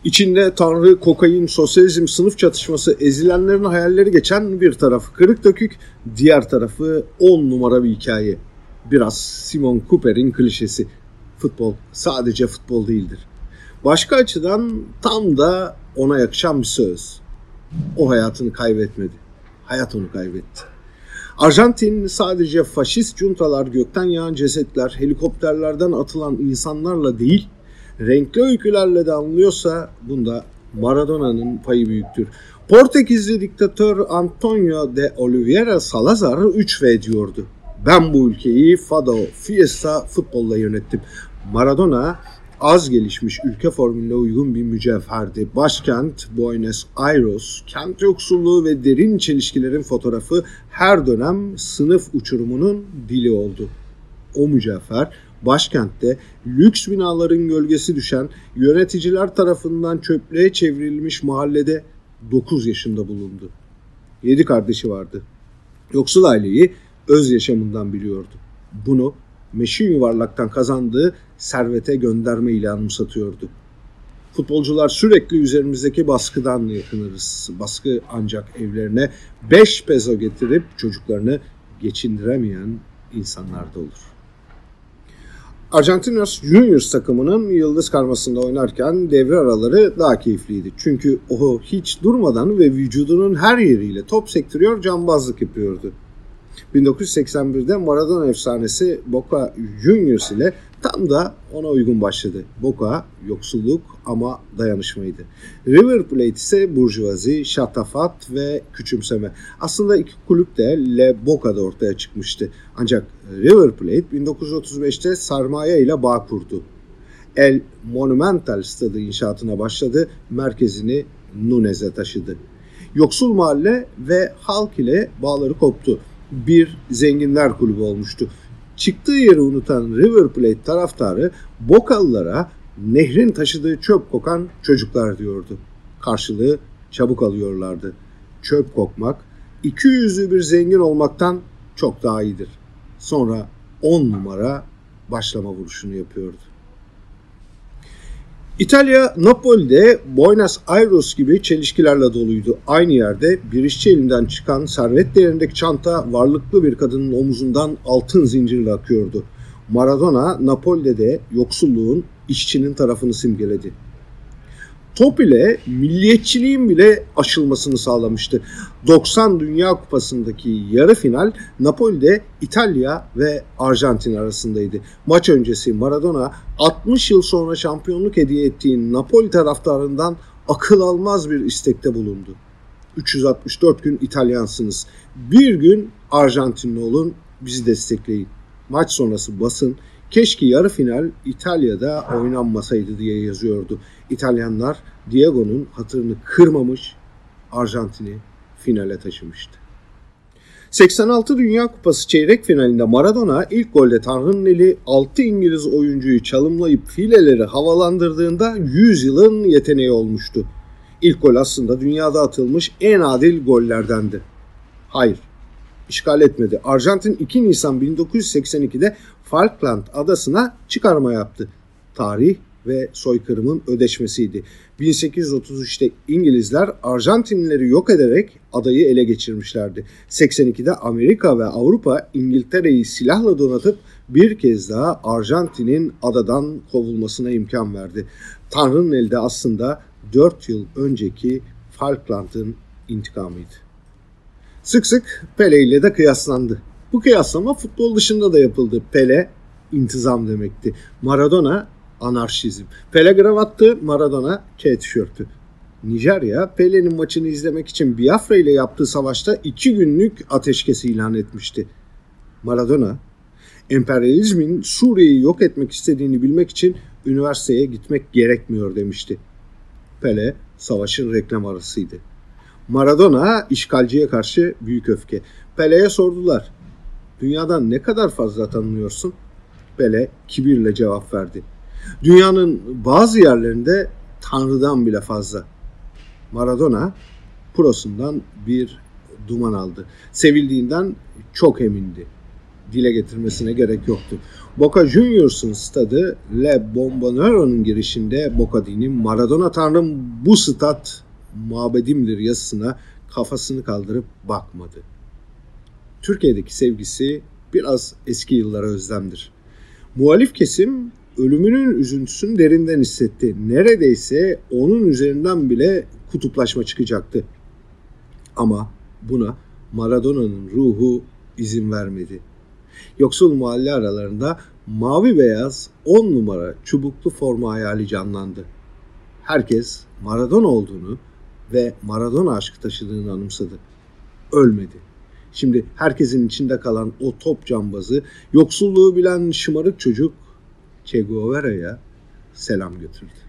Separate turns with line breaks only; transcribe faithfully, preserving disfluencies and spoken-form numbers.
İçinde tanrı, kokain, sosyalizm, sınıf çatışması, ezilenlerin hayalleri geçen bir tarafı kırık dökük, diğer tarafı on numara bir hikaye. Biraz Simon Cooper'in klişesi. Futbol sadece futbol değildir. Başka açıdan tam da ona yakışan bir söz. O hayatını kaybetmedi. Hayat onu kaybetti. Arjantin sadece faşist juntalar, gökten yağan cesetler, helikopterlerden atılan insanlarla değil, renkli öykülerle de anlıyorsa bunda Maradona'nın payı büyüktür. Portekizli diktatör Antonio de Oliveira Salazar üç ve diyordu. Ben bu ülkeyi fado, fiesta, futbolla yönettim. Maradona az gelişmiş ülke formülüne uygun bir mücevherdi. Başkent Buenos Aires, kent yoksulluğu ve derin çelişkilerin fotoğrafı her dönem sınıf uçurumunun dili oldu. O mücevher başkentte lüks binaların gölgesi düşen, yöneticiler tarafından çöplüğe çevrilmiş mahallede dokuz yaşında bulundu. Yedi kardeşi vardı. Yoksul aileyi öz yaşamından biliyordu. Bunu meşin yuvarlaktan kazandığı servete gönderme ile anımsatıyordu. Futbolcular sürekli üzerimizdeki baskıdan yakınırız. Baskı ancak evlerine beş peso getirip çocuklarını geçindiremeyen insanlarda olur. Argentinos Juniors takımının yıldız karmasında oynarken devre araları daha keyifliydi. Çünkü o hiç durmadan ve vücudunun her yeriyle top sektiriyor, cambazlık yapıyordu. bin dokuz yüz seksen birde Maradona efsanesi Boca Juniors ile tam da ona uygun başladı. Boca yoksulluk ama dayanışmaydı. River Plate ise burjuvazi, şatafat ve küçümseme. Aslında iki kulüp de Le Boca'da ortaya çıkmıştı. Ancak River Plate bin dokuz yüz otuz beşte sermaye ile bağ kurdu. El Monumental stadı inşaatına başladı, merkezini Núñez'e taşıdı. Yoksul mahalle ve halk ile bağları koptu. Bir zenginler kulübü olmuştu. Çıktığı yeri unutan River Plate taraftarı Bokalılara nehrin taşıdığı çöp kokan çocuklar diyordu. Karşılığı çabuk alıyorlardı. Çöp kokmak, iki yüzlü bir zengin olmaktan çok daha iyidir. Sonra on numara başlama vuruşunu yapıyordu. İtalya, Napoli'de Buenos Aires gibi çelişkilerle doluydu. Aynı yerde bir işçi elinden çıkan servet değerindeki çanta varlıklı bir kadının omuzundan altın zincirle akıyordu. Maradona, Napoli'de de yoksulluğun, işçinin tarafını simgeledi. Top ile milliyetçiliğin bile aşılmasını sağlamıştı. doksan Dünya Kupası'ndaki yarı final Napoli'de İtalya ve Arjantin arasındaydı. Maç öncesi Maradona altmış yıl sonra şampiyonluk hediye ettiği Napoli taraftarından akıl almaz bir istekte bulundu. üç yüz altmış dört gün İtalyansınız. Bir gün Arjantinli olun, bizi destekleyin. Maç sonrası basın keşke yarı final İtalya'da oynanmasaydı diye yazıyordu. İtalyanlar Diego'nun hatırını kırmamış, Arjantin'i finale taşımıştı. seksen altı Dünya Kupası çeyrek finalinde Maradona ilk golde Tanrı'nın eli altı İngiliz oyuncuyu çalımlayıp fileleri havalandırdığında yüz yılın yeteneği olmuştu. İlk gol aslında dünyada atılmış en adil gollerdendi. Hayır, işgal etmedi. Arjantin iki Nisan bin dokuz yüz seksen ikide Falkland adasına çıkarma yaptı. Tarih ve soykırımın ödeşmesiydi. bin sekiz yüz otuz üçte İngilizler Arjantinlileri yok ederek adayı ele geçirmişlerdi. seksen ikide Amerika ve Avrupa İngiltere'yi silahla donatıp bir kez daha Arjantin'in adadan kovulmasına imkan verdi. Tanrı'nın eli de aslında dört yıl önceki Falkland'ın intikamıydı. Sık sık Pele ile de kıyaslandı. Bu kıyaslama futbol dışında da yapıldı. Pele intizam demekti. Maradona anarşizm. Pele gravattı, Maradona K tişörtü. Nijerya, Pele'nin maçını izlemek için Biafra ile yaptığı savaşta iki günlük ateşkes ilan etmişti. Maradona, emperyalizmin Suriye'yi yok etmek istediğini bilmek için üniversiteye gitmek gerekmiyor demişti. Pele, savaşın reklam arasıydı. Maradona, işgalciye karşı büyük öfke. Pele'ye sordular, dünyadan ne kadar fazla tanınıyorsun? Pele kibirle cevap verdi. Dünyanın bazı yerlerinde Tanrı'dan bile fazla. Maradona prosundan bir duman aldı. Sevildiğinden çok emindi. Dile getirmesine gerek yoktu. Boca Juniors'ın stadı Le Bombonero'nun girişinde Bocadini Maradona tanrım bu stat mabedimdir yazısına kafasını kaldırıp bakmadı. Türkiye'deki sevgisi biraz eski yıllara özlemdir. Muhalif kesim ölümünün üzüntüsünü derinden hissetti. Neredeyse onun üzerinden bile kutuplaşma çıkacaktı. Ama buna Maradona'nın ruhu izin vermedi. Yoksul mahalle aralarında mavi beyaz on numara çubuklu forma hayali canlandı. Herkes Maradona olduğunu ve Maradona aşkı taşıdığını anımsadı. Ölmedi. Şimdi herkesin içinde kalan o top cambazı, yoksulluğu bilen şımarık çocuk Che Guevara'ya selam götürdü.